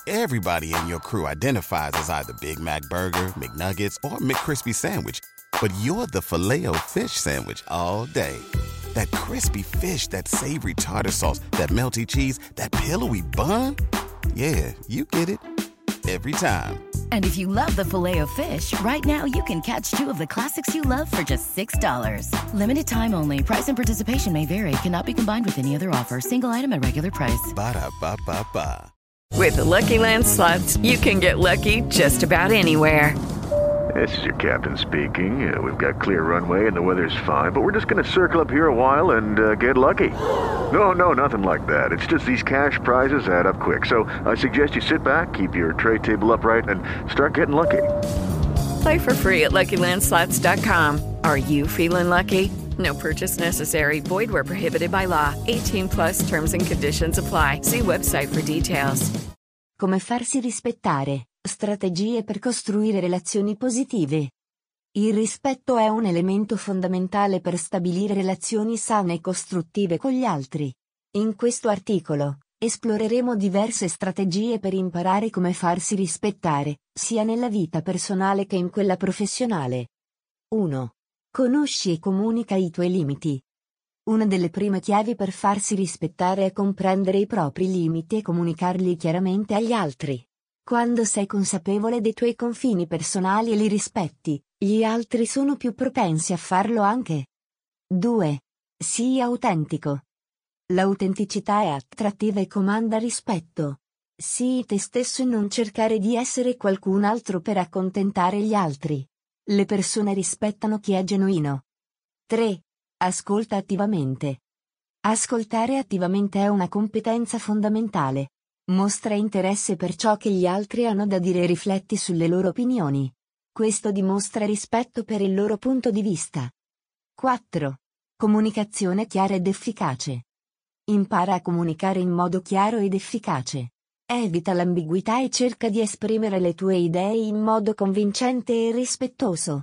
Everybody in your crew identifies as either Big Mac Burger, McNuggets, or McCrispy Sandwich. But you're the Filet-O-Fish Sandwich all day. That crispy fish, that savory tartar sauce, that melty cheese, that pillowy bun. Yeah, you get it. Every time. And if you love the Filet-O-Fish, right now you can catch two of the classics you love for just $6. Limited time only. Price and participation may vary. Cannot be combined with any other offer. Single item at regular price. Ba-da-ba-ba-ba. With the Lucky Land Slots, you can get lucky just about anywhere. This is your captain speaking. We've got clear runway and the weather's fine, but we're just going to circle up here a while and get lucky. No, nothing like that. It's just these cash prizes add up quick. So I suggest you sit back, keep your tray table upright, and start getting lucky. Play for free at LuckyLandSlots.com. Are you feeling lucky? No purchase necessary. Void where prohibited by law. 18+ terms and conditions apply. See website for details. Come farsi rispettare. Strategie per costruire relazioni positive. Il rispetto è un elemento fondamentale per stabilire relazioni sane e costruttive con gli altri. In questo articolo, esploreremo diverse strategie per imparare come farsi rispettare, sia nella vita personale che in quella professionale. 1. Conosci e comunica i tuoi limiti. Una delle prime chiavi per farsi rispettare è comprendere i propri limiti e comunicarli chiaramente agli altri. Quando sei consapevole dei tuoi confini personali e li rispetti, gli altri sono più propensi a farlo anche. 2. Sii autentico. L'autenticità è attrattiva e comanda rispetto. Sii te stesso e non cercare di essere qualcun altro per accontentare gli altri. Le persone rispettano chi è genuino. 3. Ascolta attivamente. Ascoltare attivamente è una competenza fondamentale. Mostra interesse per ciò che gli altri hanno da dire e rifletti sulle loro opinioni. Questo dimostra rispetto per il loro punto di vista. 4. Comunicazione chiara ed efficace. Impara a comunicare in modo chiaro ed efficace. Evita l'ambiguità e cerca di esprimere le tue idee in modo convincente e rispettoso.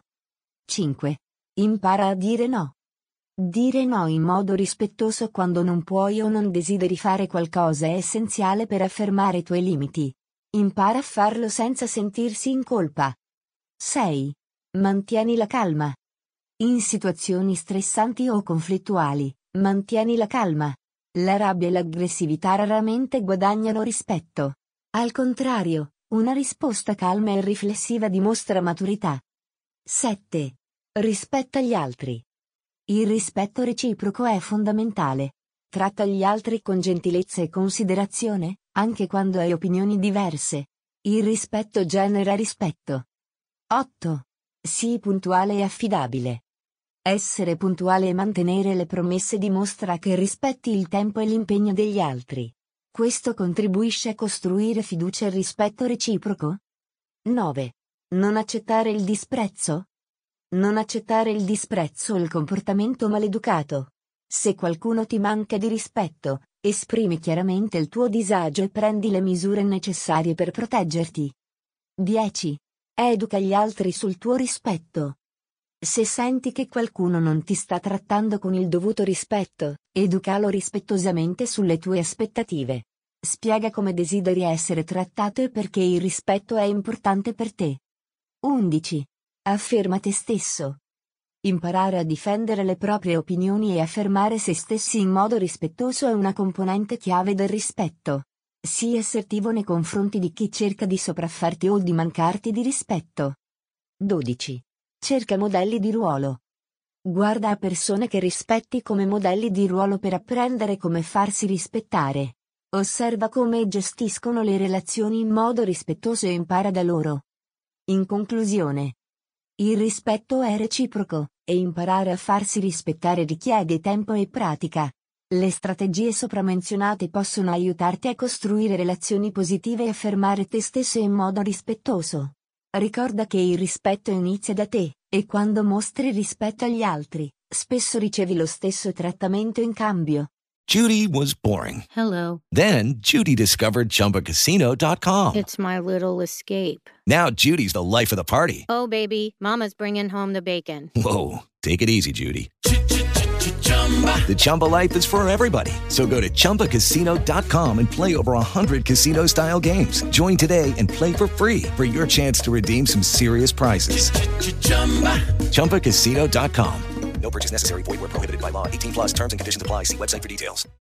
5. Impara a dire no. Dire no in modo rispettoso quando non puoi o non desideri fare qualcosa è essenziale per affermare i tuoi limiti. Impara a farlo senza sentirsi in colpa. 6. Mantieni la calma. In situazioni stressanti o conflittuali, mantieni la calma. La rabbia e l'aggressività raramente guadagnano rispetto. Al contrario, una risposta calma e riflessiva dimostra maturità. 7. Rispetta gli altri. Il rispetto reciproco è fondamentale. Tratta gli altri con gentilezza e considerazione, anche quando hai opinioni diverse. Il rispetto genera rispetto. 8. Sii puntuale e affidabile. Essere puntuale e mantenere le promesse dimostra che rispetti il tempo e l'impegno degli altri. Questo contribuisce a costruire fiducia e rispetto reciproco. 9. Non accettare il disprezzo. Non accettare il disprezzo o il comportamento maleducato. Se qualcuno ti manca di rispetto, esprimi chiaramente il tuo disagio e prendi le misure necessarie per proteggerti. 10. Educa gli altri sul tuo rispetto. Se senti che qualcuno non ti sta trattando con il dovuto rispetto, educalo rispettosamente sulle tue aspettative. Spiega come desideri essere trattato e perché il rispetto è importante per te. 11. Afferma te stesso. Imparare a difendere le proprie opinioni e affermare se stessi in modo rispettoso è una componente chiave del rispetto. Sii assertivo nei confronti di chi cerca di sopraffarti o di mancarti di rispetto. 12. Cerca modelli di ruolo. Guarda a persone che rispetti come modelli di ruolo per apprendere come farsi rispettare. Osserva come gestiscono le relazioni in modo rispettoso e impara da loro. In conclusione, il rispetto è reciproco, e imparare a farsi rispettare richiede tempo e pratica. Le strategie sopramenzionate possono aiutarti a costruire relazioni positive e affermare te stesso in modo rispettoso. Ricorda che il rispetto inizia da te, e quando mostri rispetto agli altri, spesso ricevi lo stesso trattamento in cambio. Judy was boring. Hello. Then Judy discovered ChumbaCasino.com. It's my little escape. Now Judy's the life of the party. Oh, baby, mama's bringing home the bacon. Whoa, take it easy, Judy. The Chumba life is for everybody. So go to ChumbaCasino.com and play over 100 casino-style games. Join today and play for free for your chance to redeem some serious prizes. ChumbaCasino.com. No purchase necessary. Void where prohibited by law. 18 plus terms and conditions apply. See website for details.